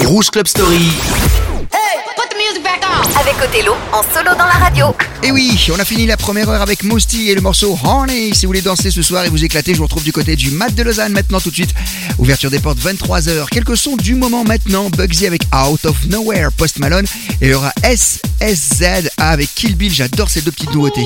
Rouge Club Story. Avec Othello en solo dans la radio. Et oui, on a fini la première heure avec Mosty et le morceau Honey. Si vous voulez danser ce soir et vous éclater, je vous retrouve du côté du Mat de Lausanne maintenant tout de suite. Ouverture des portes 23h. Quelques sons du moment maintenant. Bugsy avec Out of Nowhere, Post Malone. Et il y aura SSZ avec Kill Bill. J'adore ces deux petites nouveautés.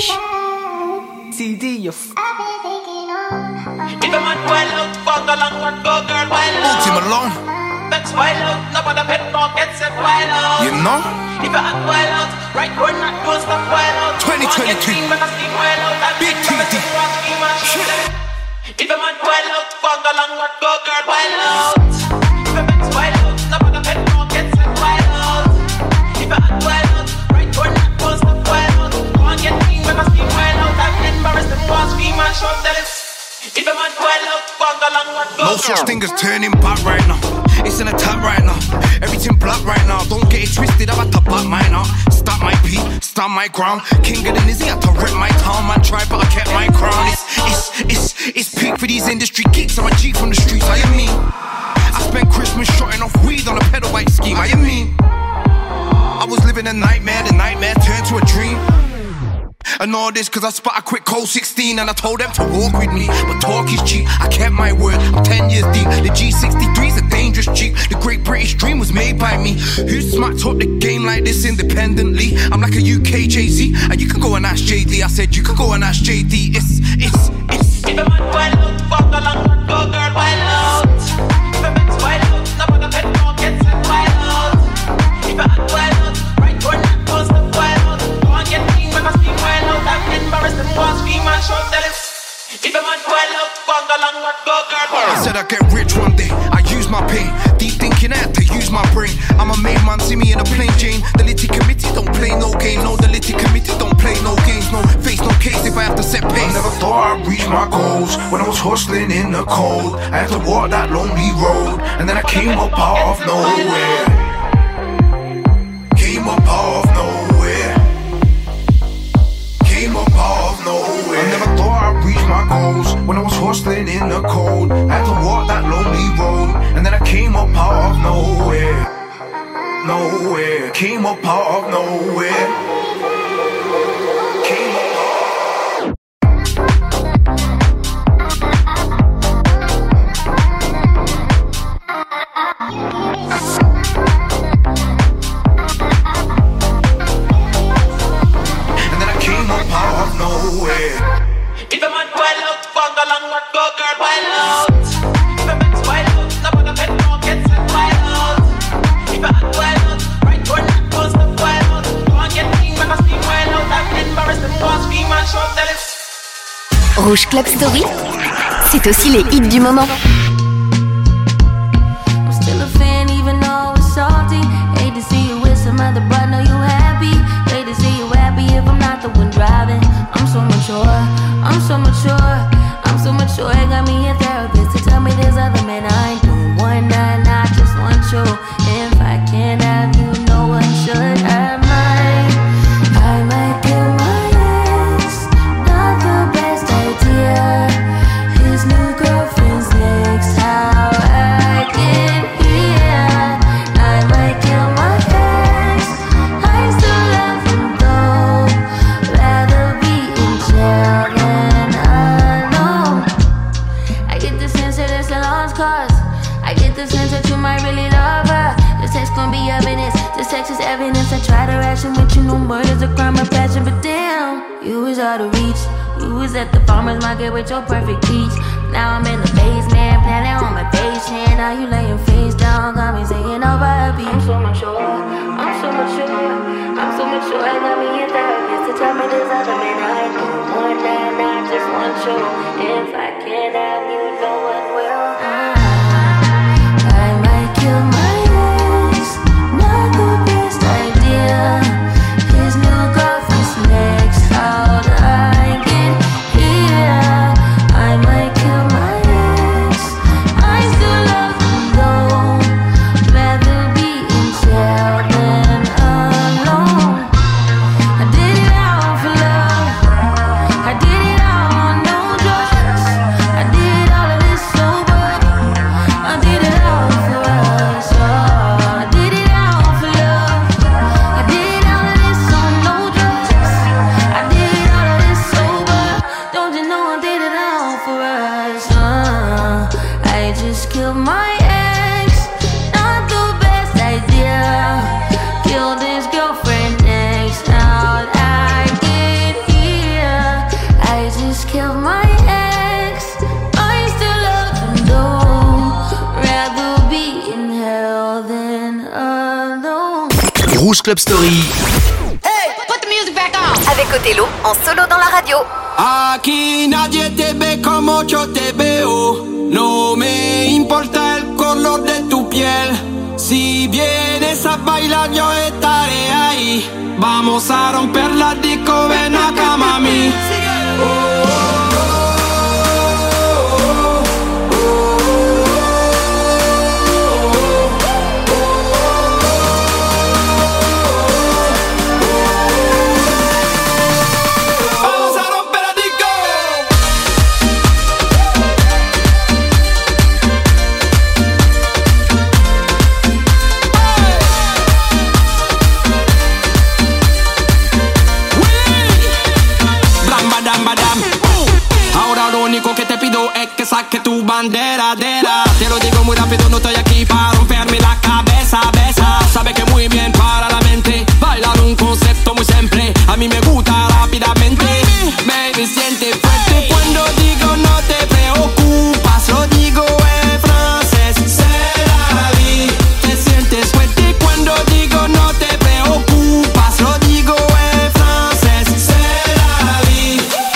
That's wild out, nobody pet dog gets it wild out. You know? If I act wild out, right word not don't stop wild out. 2022, big TD. If I'm at wild out, bug along, go girl wild out. If I'm at wild out, nobody pet dog gets it wild out. If I act wild out, right word not don't stop wild out. Go and get clean, make a scheme wild out. I'm embarrassed, them walls scream and shout, tell it. If I'm at wild out, bug along, go girl. No such thing as turning back right now. It's an attack right now, everything black right now. Don't get it twisted, I'm about to back mine out. Stop my beat, stand my ground. King of the Nizzy, had to rip my town. Man tried, but I kept my crown. It's peak for these industry geeks. I'm a G from the streets, I am me. I spent Christmas shotting off weed on a pedal bike scheme, I am me. I was living a nightmare, the nightmare turned to a dream. And all this cause I spot a quick cold 16 and I told them to walk with me. But talk is cheap, I kept my word, I'm 10 years deep. The G63's a dangerous Jeep. The Great British Dream was made by me. Who smacked up the game like this independently? I'm like a UK Jay-Z, and you can go and ask JD. I said you can go and ask JD. It's If I'm at wild out, walk along, go girl wild out. If I'm at wild out, nobody pet dog gets it wild out. If I'm at wild out, right word not don't stop wild out. Go and get clean, make a scheme wild out. I'm embarrassed, them walls scream and shout, tell it. If I'm at wild out, walk along, go girl wild out. I said I'd get rich one day, I use my pain. Deep thinking I had to use my brain. I'm a made man, see me in a plain Jane. The Litty Committee don't play no game. No, the Litty Committee don't play no games. No face, no case if I have to set pace. I never thought I'd reach my goals. When I was hustling in the cold, I had to walk that lonely road. And then I came up out of nowhere. Came up out of nowhere. Came up out of nowhere. I never thought I'd reach my goals. When I was hustling in the cold, I had to walk that lonely road. And then I came up out of nowhere. Nowhere. Came up out of nowhere. Came up out of nowhere. If I'm at wild out, bug along, go girl wild out. If I'm at wild out, nobody pet dog gets it wild out. If I'm at wild out, right word not don't stop wild out. Go and get clean, make a scheme wild out. I'm embarrassed, them walls scream and shout, tell it. Rouge Club Story, c'est aussi les hits du moment. I'm still a fan even though it's salty. Hate to see you with some other, but know you happy. Hate to see you happy if I'm not the one driving. I'm so mature, I'm so mature, I'm so mature. It got me a therapist to tell me there's other men I ain't doing one night, I just want you. If I can't have you, no one should. I might kill my ex. Not the best idea. His new girlfriend's next. How I get here. I might kill my ex. I still love him though. Rather be in jail than alone. I get the sense that it's a lost cause. I get the sense that you might really love her. This text gon' be evidence. This text is evidence. I try to ration with you. No murder's a crime of passion, but damn, you was out of reach. You was at the farmer's market with your perfect peach. Now I'm in the basement, planning on my patient. Now you laying face down, got me singing over a beat. I'm so mature, I'm so mature, I'm so mature. I got me a therapist to tell me there's other men I ain't doing one night, I just want you. If I can't have you, no one will. I might kill my ex, not the best idea. His new girlfriend's next. How'd I get here? I might kill my ex. I still love him though. Rather be in jail than alone. I did it all for love. I did it all on no drugs. I did all of this sober. Rouge Club Story. Put the music back on. Avec Othello en solo dans la radio. Aquí nadie te ve como yo te veo. No me importa el color de tu piel. Si vienes a bailar yo estaré ahí. Vamos a romper la disco, ven acá mami. Que saque tu bandera, te lo digo muy rápido, no estoy aquí para romperme la cabeza, besa. Sabe que muy bien para la mente, bailar un concepto muy simple, a mí me gusta rápidamente. Baby, siente fuerte cuando digo no te preocupas, lo digo en francés, c'est la vie. Te sientes fuerte cuando digo no te preocupas, lo digo en francés, c'est la vie.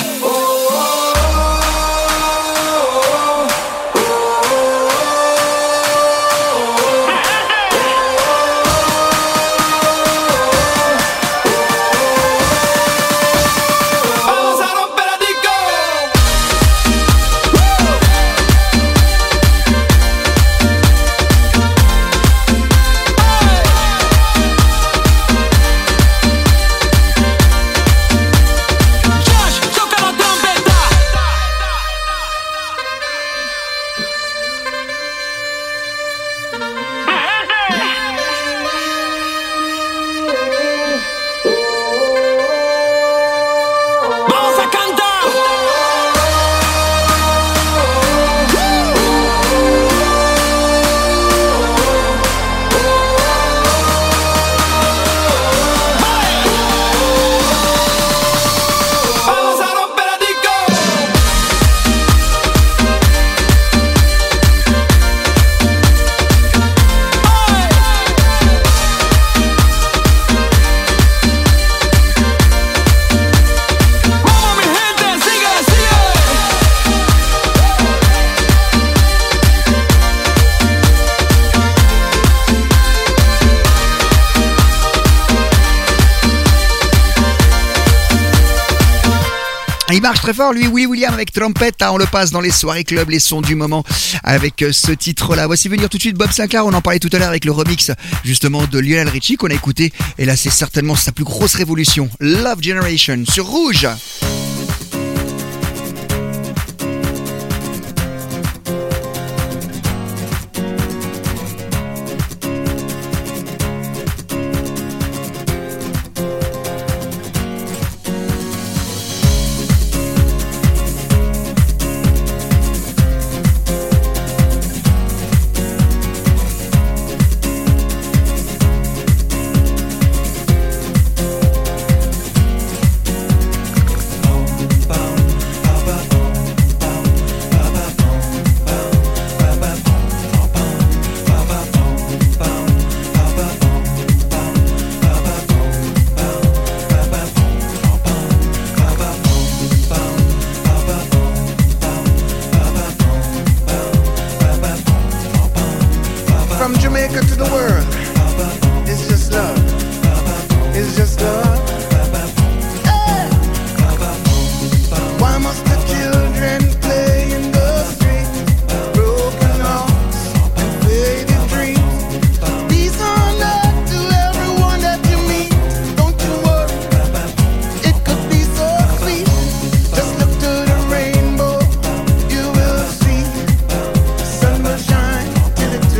Il marche très fort, lui, Willy William avec Trompette. On le passe dans les soirées clubs, les sons du moment avec ce titre-là. Voici venir tout de suite Bob Sinclair. On en parlait tout à l'heure avec le remix justement de Lionel Richie qu'on a écouté. Et là, c'est certainement sa plus grosse révolution. Love Generation sur Rouge.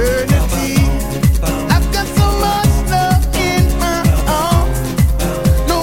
I've got so much love in my arms.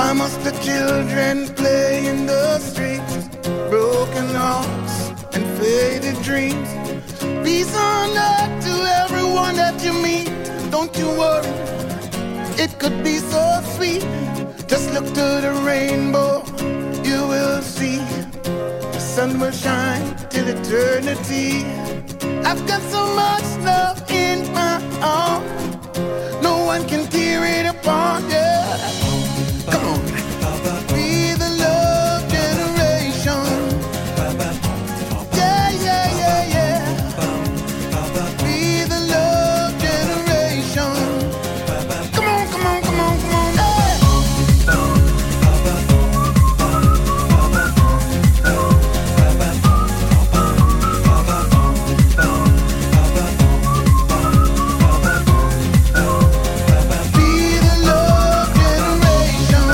Why must the children play in the streets? Broken hearts and faded dreams. Peace on earth to everyone that you meet. Don't you worry, it could be so sweet. Just look to the rainbow, you will see. The sun will shine till eternity. I've got so much love in my heart, no one can tear it apart, yeah. Come on. Be the love generation. Yeah, yeah, yeah, yeah. Be the love generation. Come on, come on, come on, come on. Hey. Be the love generation.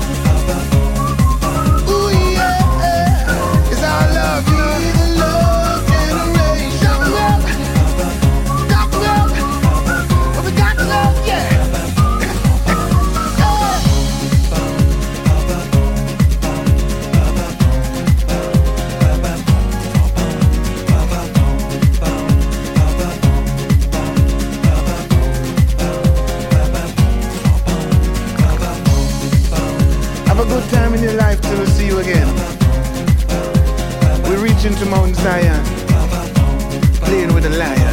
Ooh, yeah. Is our love. Be the love generation. Got love. Well, we got love, yeah. Have a good time in your life till we see you again. We're reaching to Mount Zion, playing with a lion.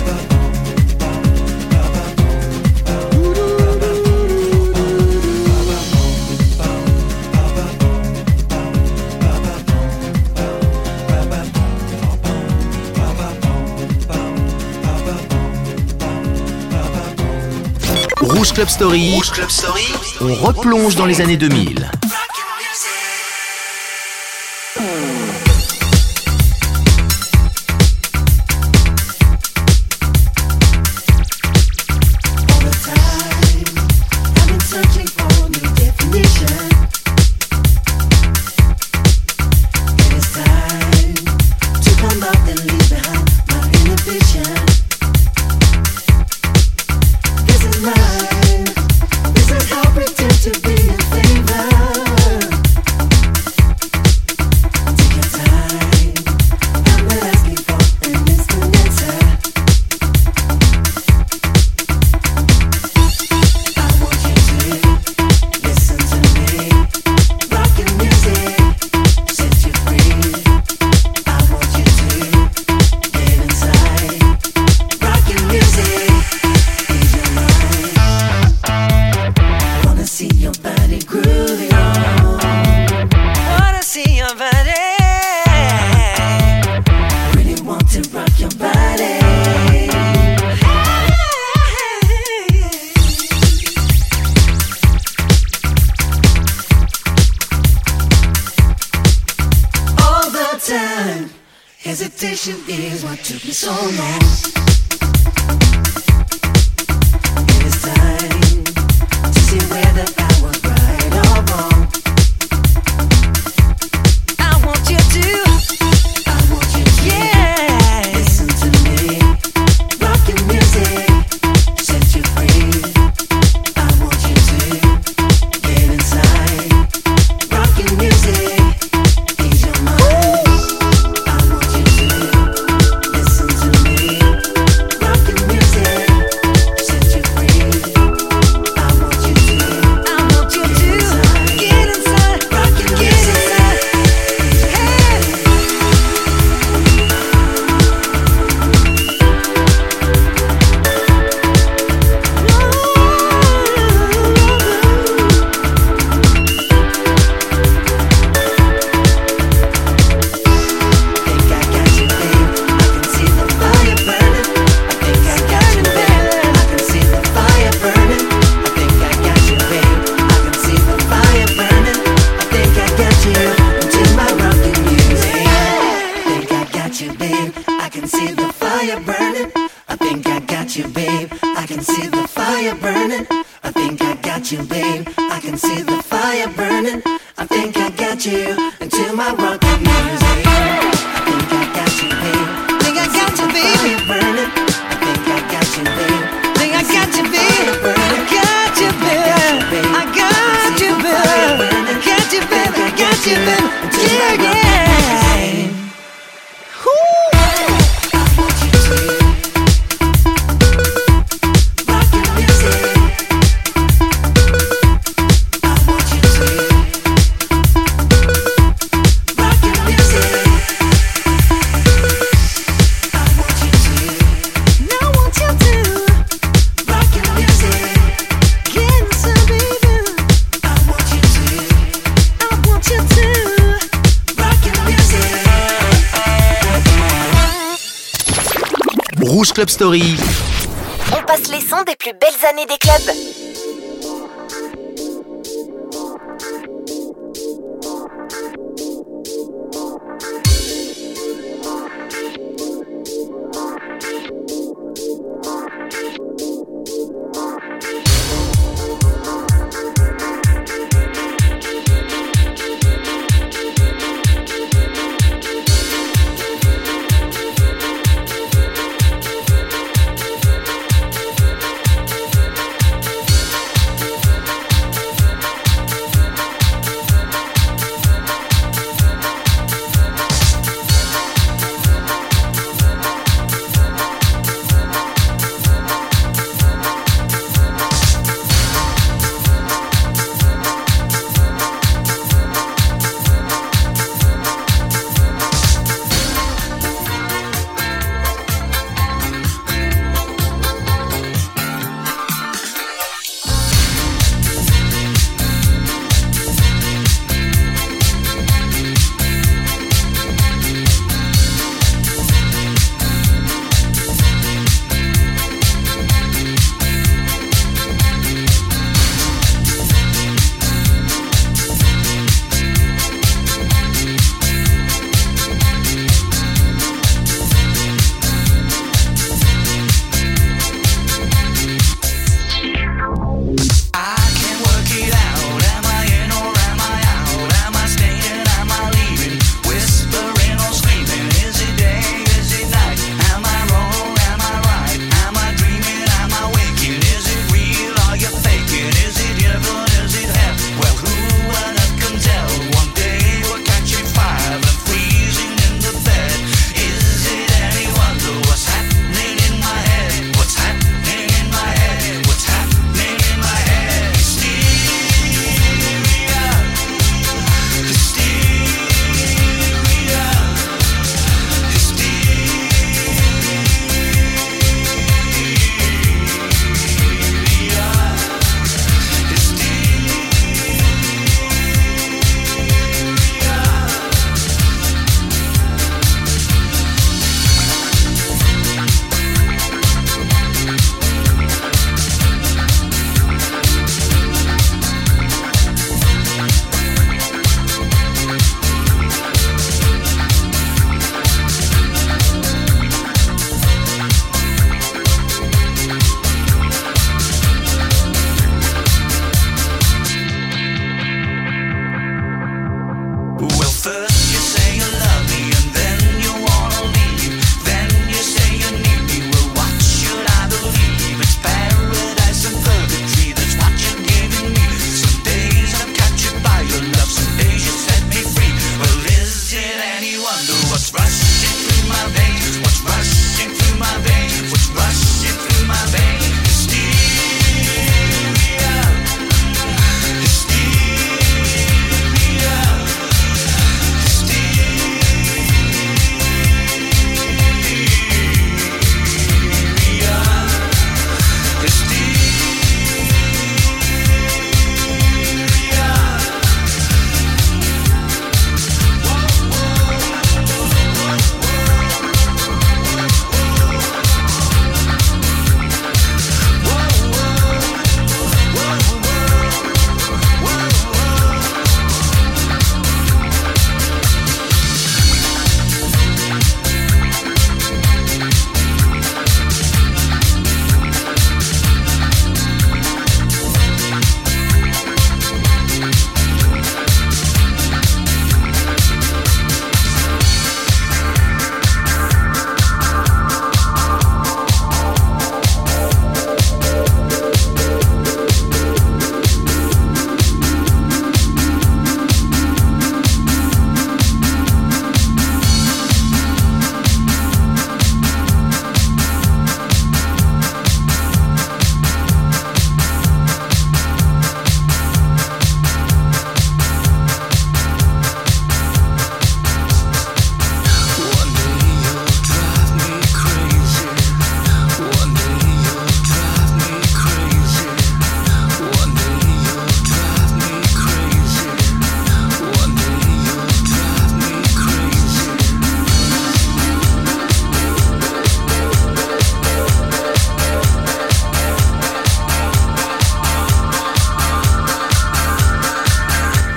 Rouge Club Story. Rouge Club Story. On replonge dans les années 2000. Hesitation is what took me so long. It is time to see whether I was right or wrong. I want you to, yeah, listen to me. Rock your music, set you free. I want you to get inside. Rock your music, ease your mind. I want you to listen to me. Rock your music, set you free. I want you to get inside. Rock your music, hey. Think I got you, babe. I can see the fire burning. I think I got you, babe. I can see the fire burning. I think I got you, babe. I can see the fire burning. I think I got you into my rocking music. Think I got you, babe. I can see the fire burning. I think I got you, babe. I can see the fire burning. I think I got you, babe. I can see the fire burning. I think I got you into my rocking music. I think I got you, babe. Think I got you, babe. Fire burning. I think I got you, babe. Think I got you, babe. I got you, babe. I got you, babe. Rouge Club Story. On passe les sons des plus belles années des clubs.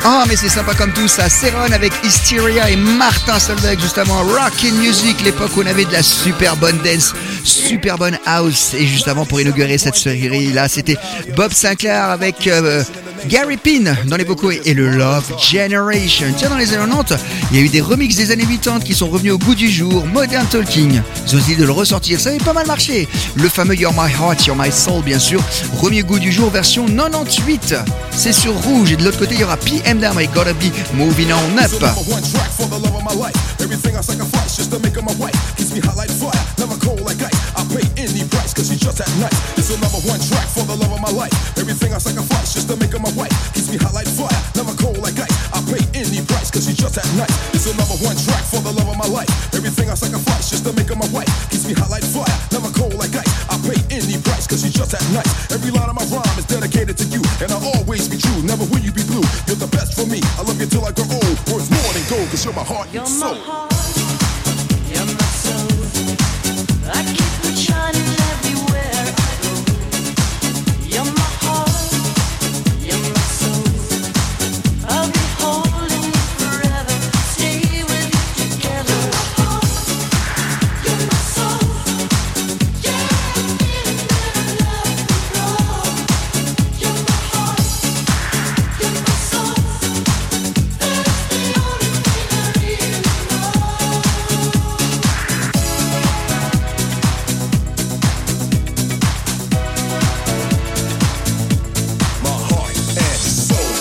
Oh mais c'est sympa comme tout ça. Céron avec Hysteria et Martin Solveig justement. Rockin' Music, l'époque où on avait de la super bonne dance, super bonne house. Et juste avant pour inaugurer cette série là, c'était Bob Sinclair avec Gary Pin dans les vocaux et le Love Generation. Tiens, dans les années 90, il y a eu des remixes des années 80 qui sont revenus au goût du jour. Modern Talking, ils ont essayé de le ressortir, ça avait pas mal marché. Le fameux You're My Heart, You're My Soul, bien sûr, remis au goût du jour, version 98. C'est sur Rouge, et de l'autre côté, il y aura PM Dam et Gotta Be Moving On Up. Cause she's just that nice. It's a number one track for the love of my life. Everything I sacrifice just to make her my wife. Keeps me hot like fire, never cold like ice. I pay any price cause she's just that nice. It's a number one track for the love of my life. Everything I sacrifice just to make her my wife. Keeps me hot like fire, never cold like ice. I pay any price cause she's just that nice. Every line of my rhyme is dedicated to you, and I'll always be true. Never will you be blue. You're the best for me. I love you till I grow old. Worth more than gold cause you're my heart and soul. You're my soul. I keep it shining everywhere I go. You're my heart, you're my soul. I'll be holding you forever, stay with you together. You're my soul, yeah, I'm feeling that I love you, Lord. You're my heart, you're my soul. That's the only thing I really know. My heart and soul.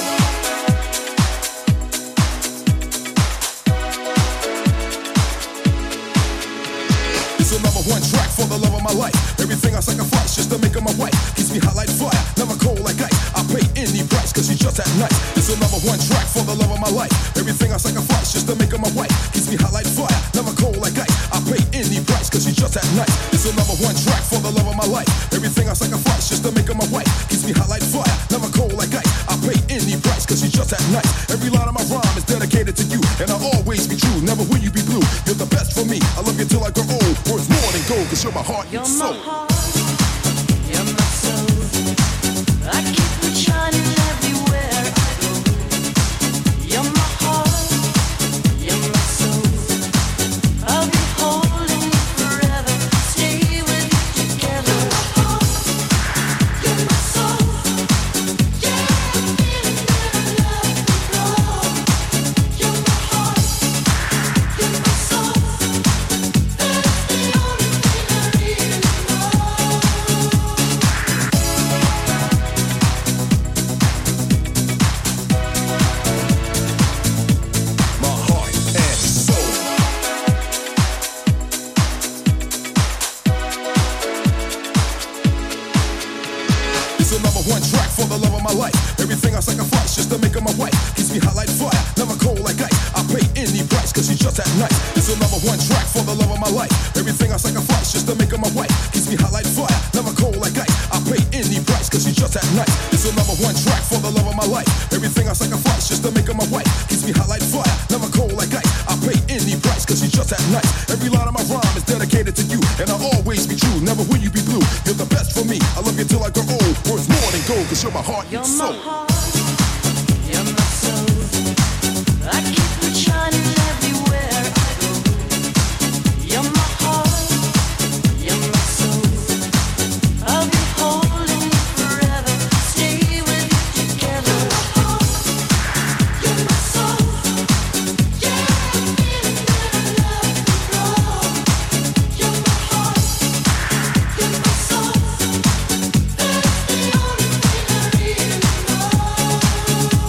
It's a number one track for the love of my life. Everything I sacrifice just to make her my wife. Keeps me hot like fire, never cold like ice. I pay any price cause she's just that nice. It's a number one track for the love of my life. Everything I sacrifice just to make her my wife. Keeps me hot like fire, never cold like ice. I pay any price cause she's just that nice. It's a number one track for the love of my life. Everything I sacrifice just to make her my wife. Keeps me hot like fire, never cold like ice. I pay any price cause she's just that nice. Every line of my rhyme is dedicated to you, and I'll always be true. Never will you be blue. You're the best for me. I love you till I grow old. Worth more than gold cause you're my heart You're and my soul. heart, you're my soul. I keep it shining everywhere I go. You're my heart, you're my soul. I'll be holding you forever, stay with you together. You're my soul, yeah, I'm feeling that I love you, Lord. You're my heart, you're my soul. That's the only thing I really know. My heart and soul. It's a number one track for the love of my life. Everything I sacrifice just to make her my wife. Keeps me hot like fire, never cold like ice. I pay any price cause she's just that nice. It's a number one track for the love of my life. Everything I sacrifice just to make her my wife. Keeps me hot like fire, never cold like ice. I pay any price cause she's just that nice. It's a number one track for the love of my life. Everything I sacrifice just to make her my wife. Keeps me hot like fire, never cold like ice. I pay any price cause she's just that nice. Every line of my rhyme is dedicated to you, and I'll always be true. Never will you be blue. You're the best for me. I love you till I grow old. Worth more than gold cause you're my heart You're and my soul. heart, you're my soul. I keep it shining everywhere I go. You're my heart, you're my soul. I'll be holding you forever, stay with you together. You're my soul, yeah, I'm feeling that I love you, Lord. You're my heart, you're my soul. That's the only thing I really know.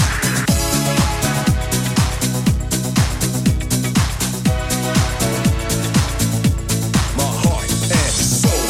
My heart and soul.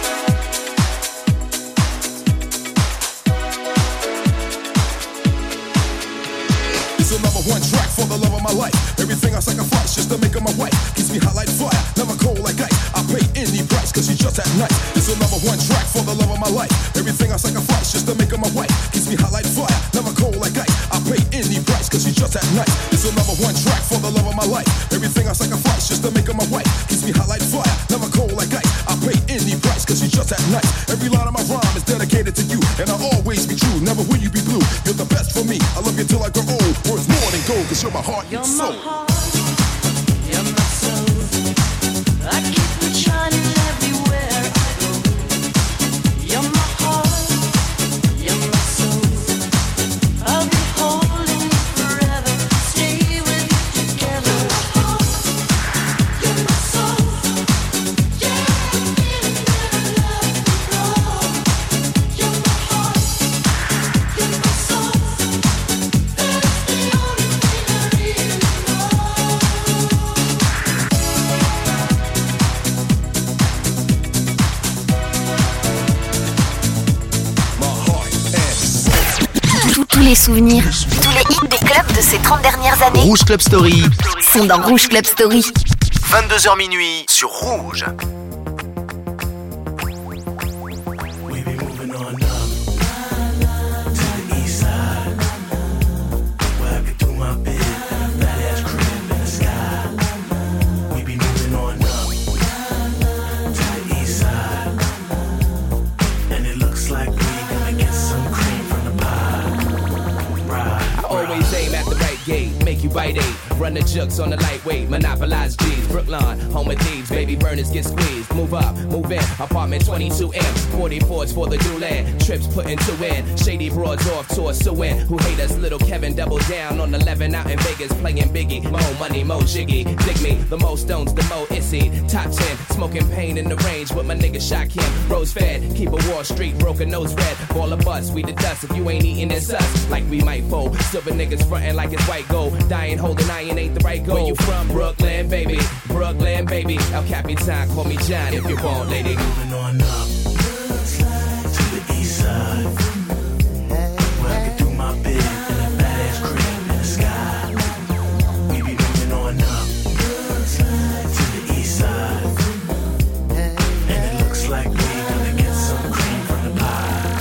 It's a number one track for the love of my life. Everything I sacrifice just to make her my wife. Keeps me hot like fire, never cold like ice. I pay any price cause she's just that nice. It's a number one track for the love of my life. Everything I sacrifice just to make her my wife. Keeps me hot like fire, never cold like ice. I pay any price cause she's just that nice. It's a number one track for the love of my life. Everything I sacrifice just to make her my wife. Keeps me hot like fire, never cold like ice. I pay any price cause she's just that nice. Every line of my rhyme is dedicated to you, and I'll always be true. Never will you be blue. You're the best for me. I love you till I grow old. Worth more than gold, cause you're my heart and soul. You're my soul. I keep it shining everywhere I go. You're my heart. You're my soul. I'll be holding you forever. Stay with you together. You're my soul. Yeah, the feeling that I love you know. You're my heart. You're my soul. That's the only thing I really know. Tous les souvenirs, tous les hits des clubs de ces 30 dernières années Rouge Club Story, sont dans Rouge Club Story. 22h minuit sur Rouge. We be moving on up to the east side, where I could do my bit in a badass crib in the sky. We be moving on up to the east side, and it looks like we gonna get some cream from the pie. Right. Always aim at the right gate, make you bite eight. Run the jukes on the lightweight, monopolize G's. Brooklyn, home of thieves, baby burners get squeezed. Move up, move in, apartment 22M. 44s for the new land, trips putting two in. Shady broads off to a suin. Who hate us, little Kevin double down on 11 out in Vegas. Playing Biggie, mo money, mo jiggy. Dig me, the most stones, the mo issy. Top 10, smoking pain in the range with my nigga Shot Kim. Rose fed, keep a Wall Street, broken nose red. Ball of bus, we the dust, if you ain't eating it's us. Like we might fold, silver niggas frontin' like it's white gold. Dying holding iron ain't the right goal. Where you from, Brooklyn, baby? Brooklyn, baby. El Capitan, call me John if you want, lady. Moving on up to the east side, where I could do my bit in a badass crib in the sky. We be moving on up to the east side, and it looks like we gonna get some cream from the pie.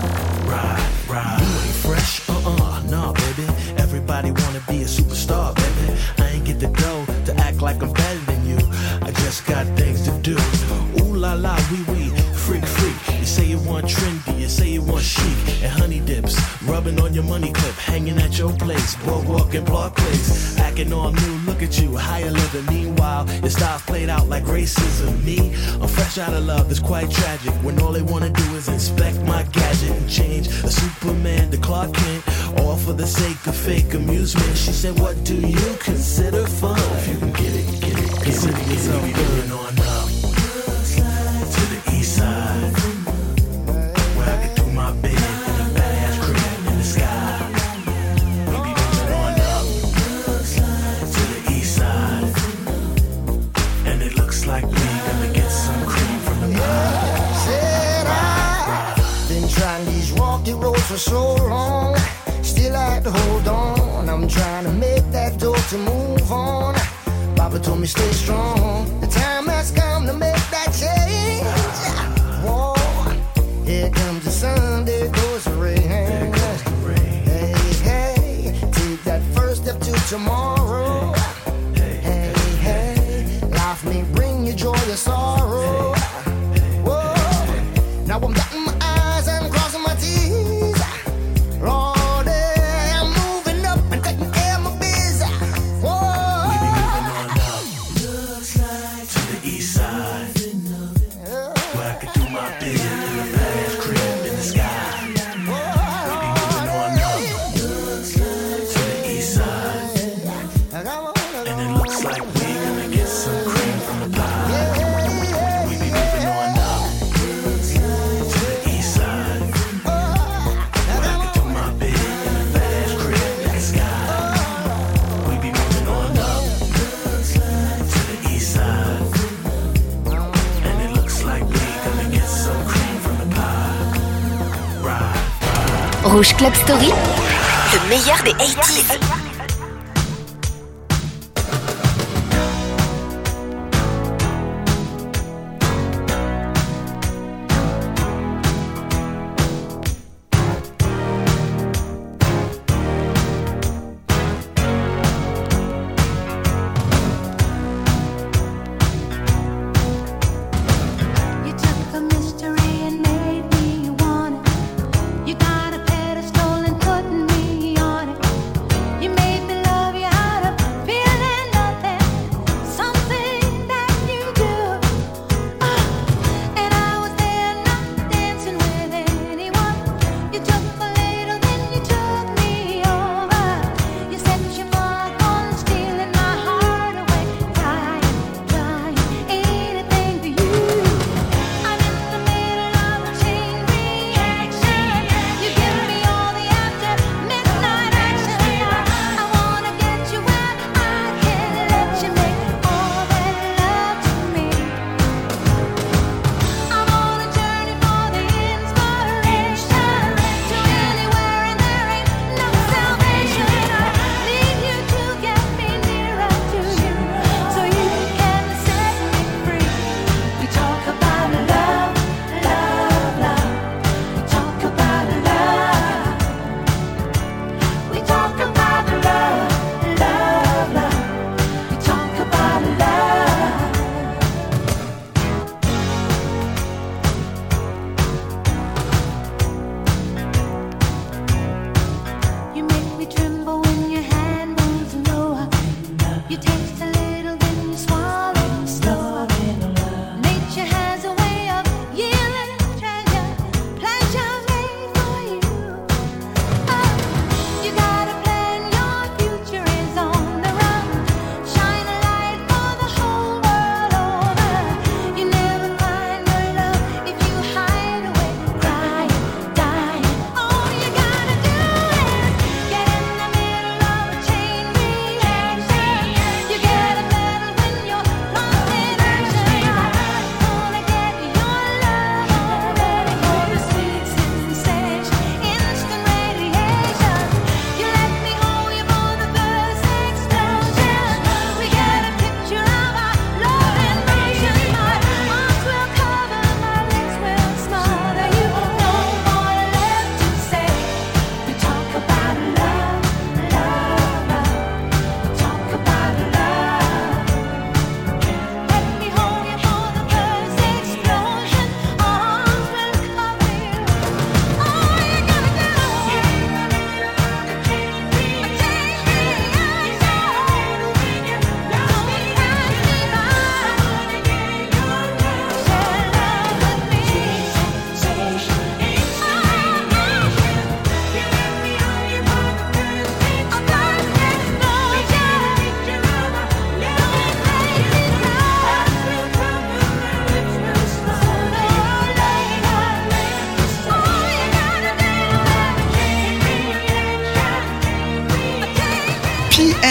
Right. You ain't fresh? Nah, baby. Everybody wanna be a superstar, baby. I ain't get the dough to act like I'm better than you. I just got things to do. Ooh la la, wee, freak. You say you want trendy, you say you want chic, and honey dips, rubbing on your money clip, hanging at your place, boardwalk and Park Place, acting all new. Look at you, higher living. Meanwhile, your style's played out like racism. Me, I'm fresh out of love. It's quite tragic when all they wanna do is inspect my gadget and change a Superman to Clark Kent, all for the sake of fake amusement. She said, what do you consider fun? If you can get it. Consider yourself good. On up to the east side, where I could do my bit in a badass crib in the sky. We be moving on up to the east side, and it looks like we gonna get some cream from the pie. Said I've been trying these rocky roads for so long, still I had to hold on. I'm trying to make that door to move on. Papa told me stay strong. The time has come to make that change. Whoa, here comes the sun, there goes the rain. Hey, take that first step to tomorrow. Hey, life may bring you joy or sorrow. Whoa, now I'm dotting my I's and crossing my T's. Lord, I'm moving up and taking care of my biz. Whoa. To the east side, where I could do my bit in a badass crib in the sky. We be moving on up to the east side, and it looks like we gonna get some cream from the pie. We be moving on up to the east side, where I could do my bit in a badass crib in the sky. We be moving on up to the east side, and it looks like we gonna get some cream from the pie. Right. Rouge Club Story, le meilleur des 80s. You took a mystery and made me want it. You got a pedestal and put me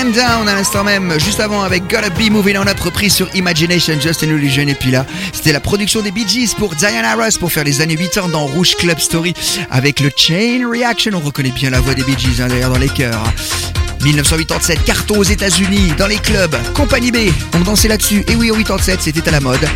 Calm Down à l'instant même, juste avant avec Gotta Be Moving On Up, reprise sur Imagination, Just an Illusion. Et puis là, c'était la production des Bee Gees pour Diana Ross pour faire les années 80 dans Rouge Club Story avec le Chain Reaction. On reconnaît bien la voix des Bee Gees d'ailleurs dans les chœurs. 1987, carton aux États-Unis, dans les clubs, Compagnie B, on dansait là-dessus. Et oui, en 87, c'était à la mode.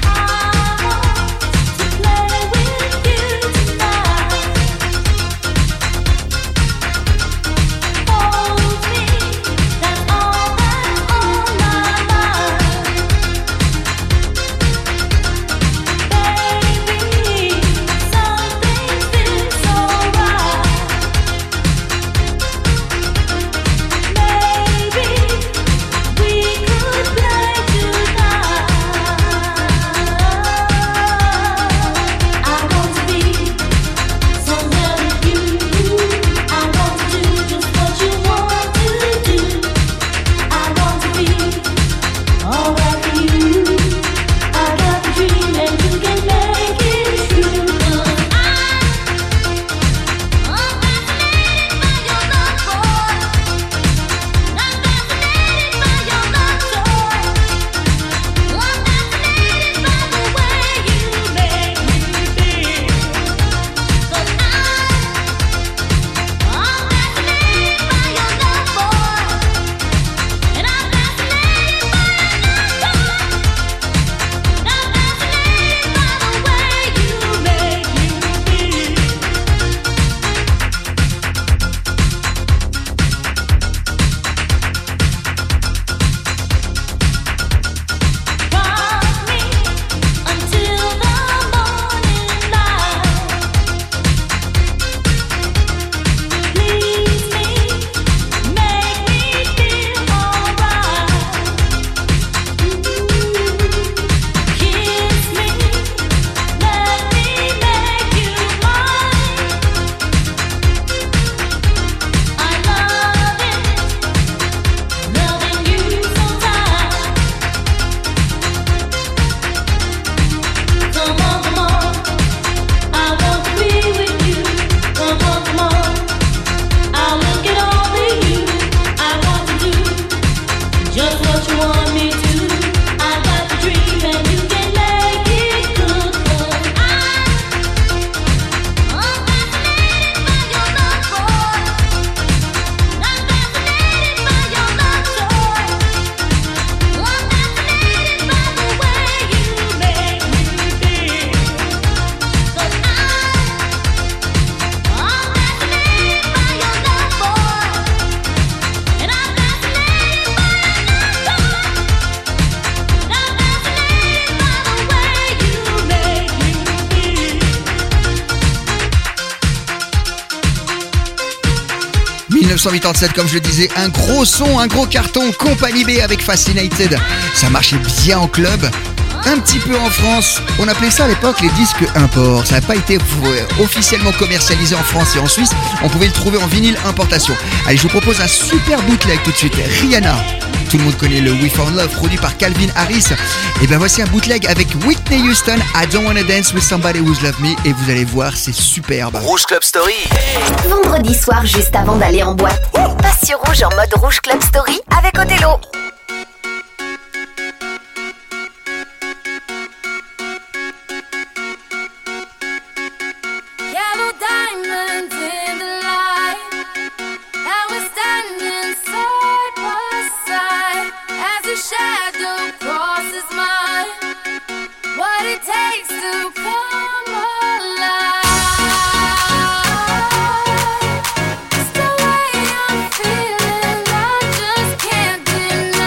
« 1987, comme je le disais, un gros son, un gros carton, Compagnie B avec Fascinated. Ça marchait bien en club, un petit peu en France. On appelait ça à l'époque les disques import. Ça n'a pas été officiellement commercialisé en France et en Suisse. On pouvait le trouver en vinyle importation. Allez, je vous propose un super bootleg tout de suite. Rihanna. Tout le monde connaît le We Found Love, produit par Calvin Harris. Et ben voici un bootleg avec Whitney Houston, I Don't Wanna Dance With Somebody Who's Loved Me. Et vous allez voir, c'est superbe. Rouge Club Story. Vendredi soir, juste avant d'aller en boîte, passe sur Rouge en mode Rouge Club Story avec Othello. Yellow diamonds in the light, and we're standing side by side as a shadow crosses mine. What it takes to come alive. It's the way I'm feeling, I just can't deny.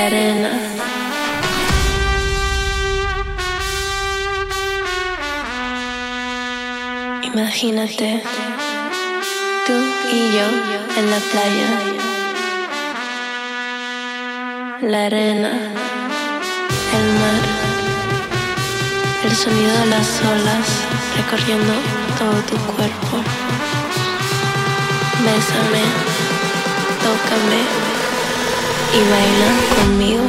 la arena. Imagínate, tú y yo en la playa, la arena, el mar, el sonido de las olas recorriendo todo tu cuerpo. Bésame, tócame y baila conmigo.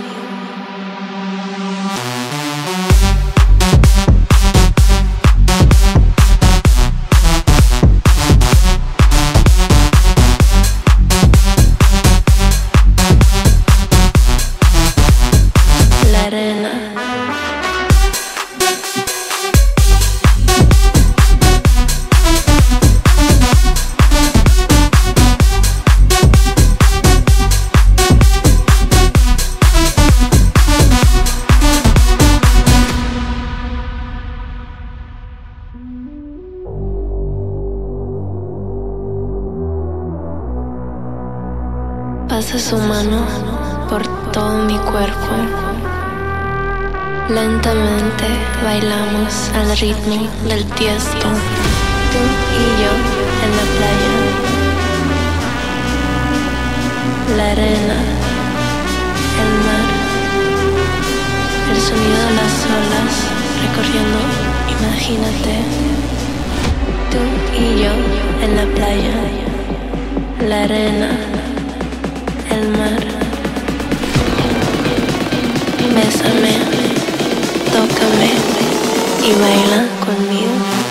Pasa su mano por todo mi cuerpo. Lentamente bailamos al ritmo del Tiesto. Tú y yo en la playa. La arena, el mar, el sonido de las olas recorriendo. Imagínate, tú y yo en la playa. La arena, el mar. Bésame, tócame y baila conmigo.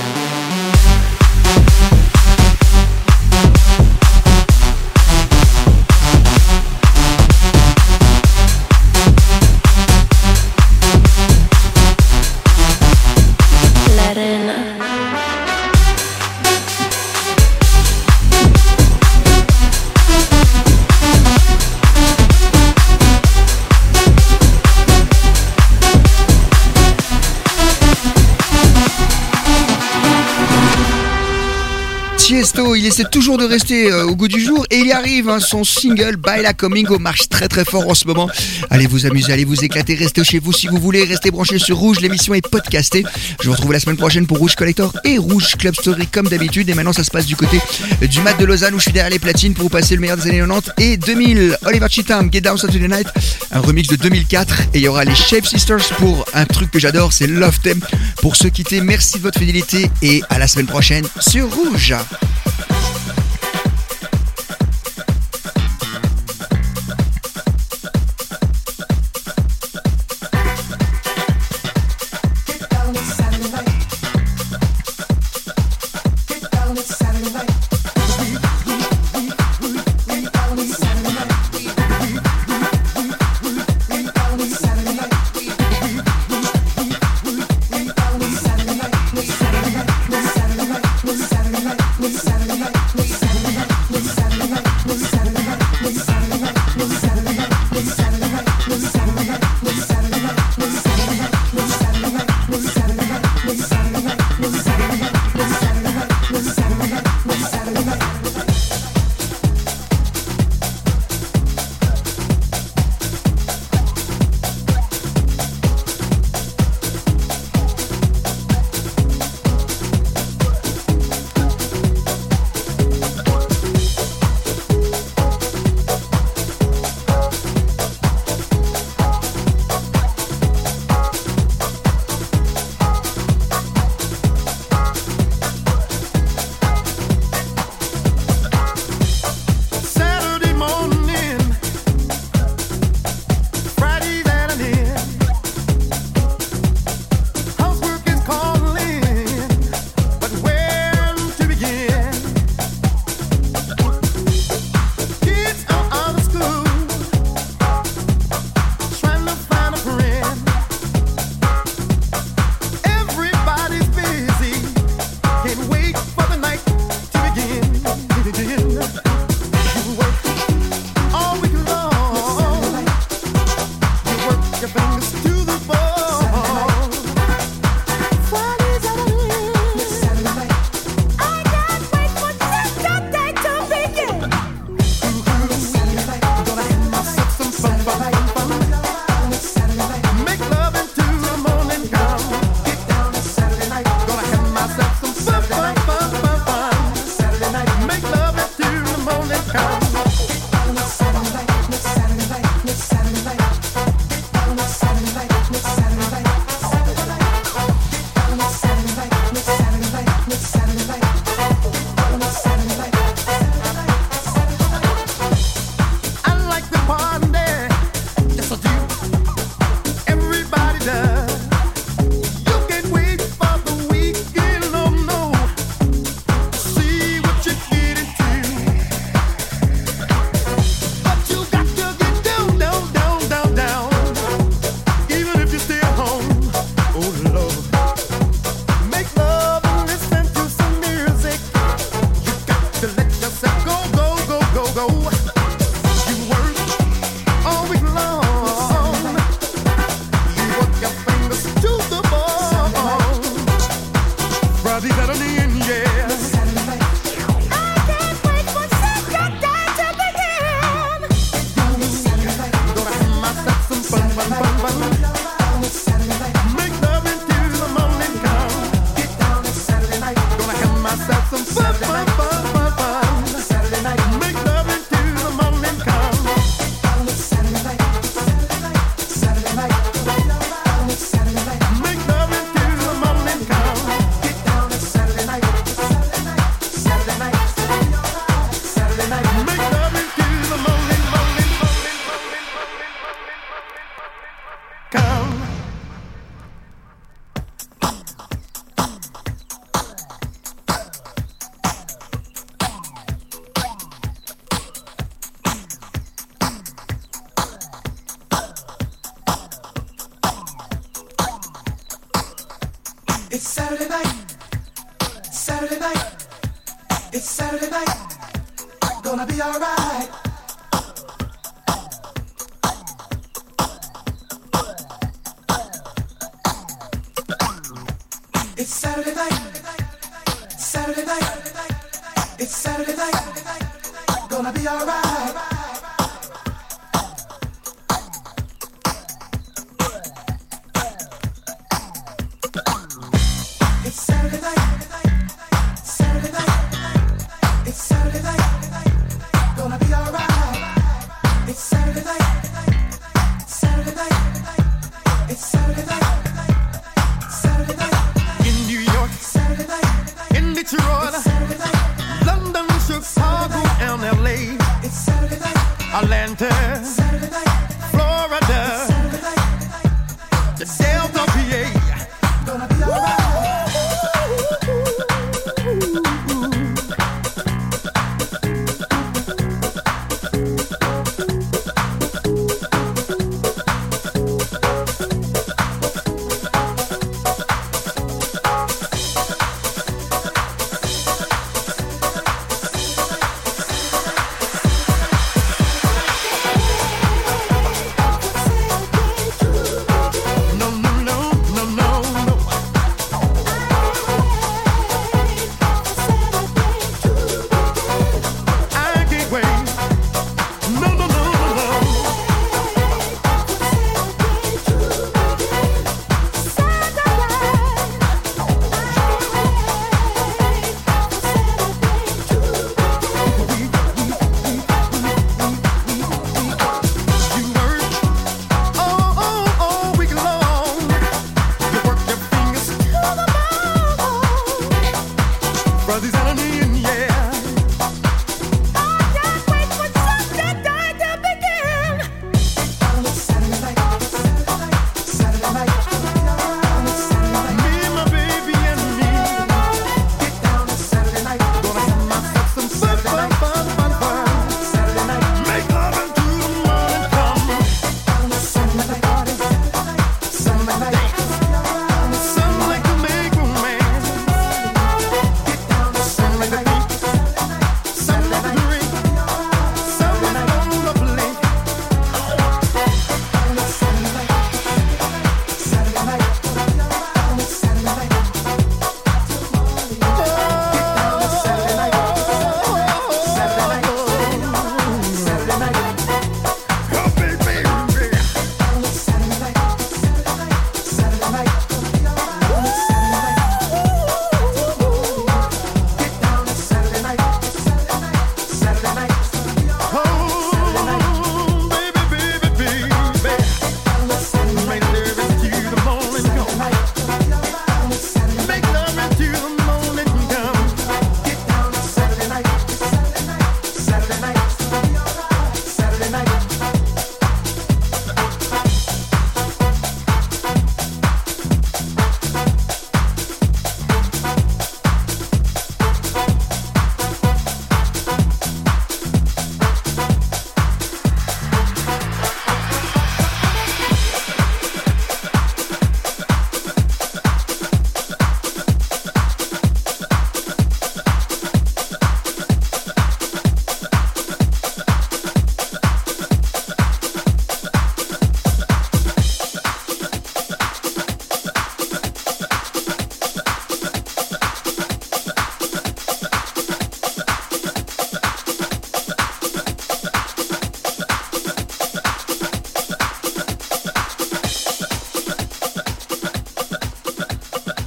La arena. Tiesto, il essaie toujours de rester au goût du jour et il y arrive, hein, son single Baila Conmigo marche très très fort en ce moment. Allez vous amuser, allez vous éclater, restez chez vous si vous voulez, restez branchés sur Rouge, l'émission est podcastée. Je vous retrouve la semaine prochaine pour Rouge Collector et Rouge Club Story comme d'habitude. Et maintenant ça se passe du côté du Mat de Lausanne où je suis derrière les platines pour vous passer le meilleur des années 90 et 2000. Oliver Cheatham, Get Down Saturday Night, un remix de 2004 et il y aura les Shape Sisters pour un truc que j'adore, c'est Love Them. Pour se quitter, merci de votre fidélité et à la semaine prochaine sur Rouge. Saturday night. It's Saturday night. Saturday night. It's Saturday night. Gonna be alright. It's Saturday night. Saturday night. It's Saturday night. Gonna be alright. It's Saturday night. Saturday night. It's Saturday night. Gonna be alright. It's Saturday night. Saturday night. It's Saturday night. Saturday night. In New York, Saturday night. in Detroit, Saturday night. London, Chicago, and LA, It's Saturday night. Atlanta, Saturday night. Florida, Saturday night. the Delta, PA. Gonna be alright. No, no, no, no, no, no. I can't wait. No, no, no, no, no. You work all week long. You work your fingers to the bone. Brothers and in, yeah. I can't wait for Sunday night to begin. Saturday night. Saturday night. Me and my baby and me Get down on Saturday night. gonna have myself some fun, fun, fun, fun, fun. Saturday night. Make love until the morning come. Saturday night. Saturday night. Some like to make romance. Some like to eat. Some like to drink. Some like to play. Oh, baby. Oh, baby, baby, baby. Make love until the morning come. Make love until the morning come.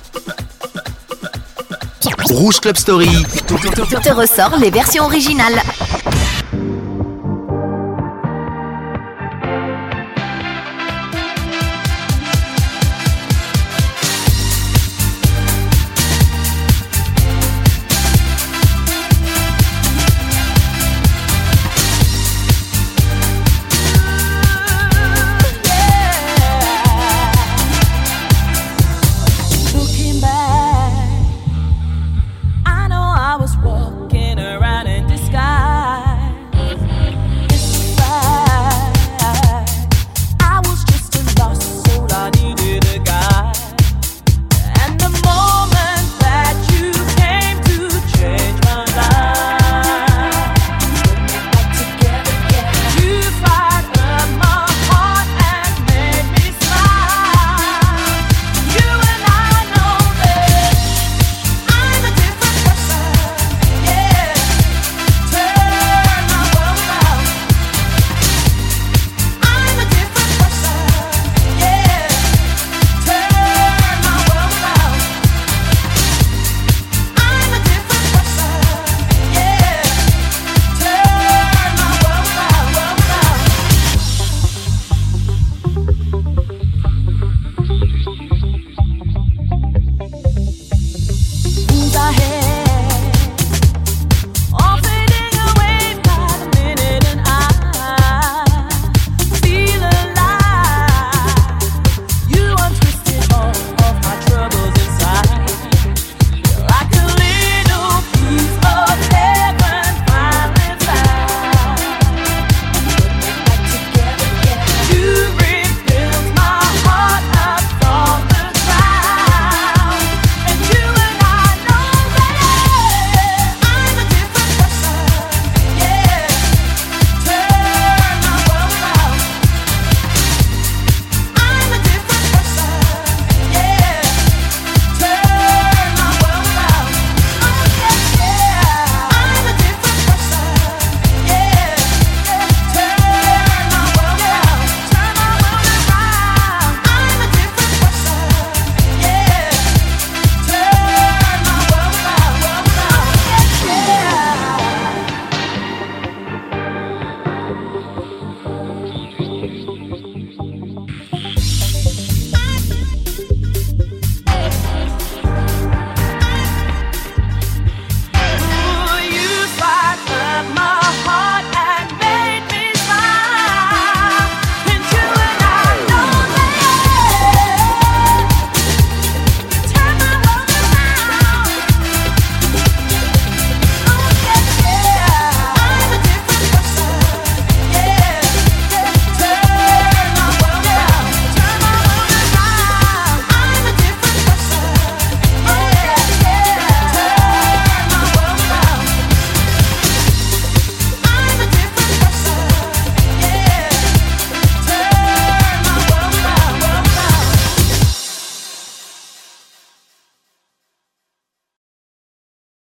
Rouge Club Story. Te ressort les versions originales.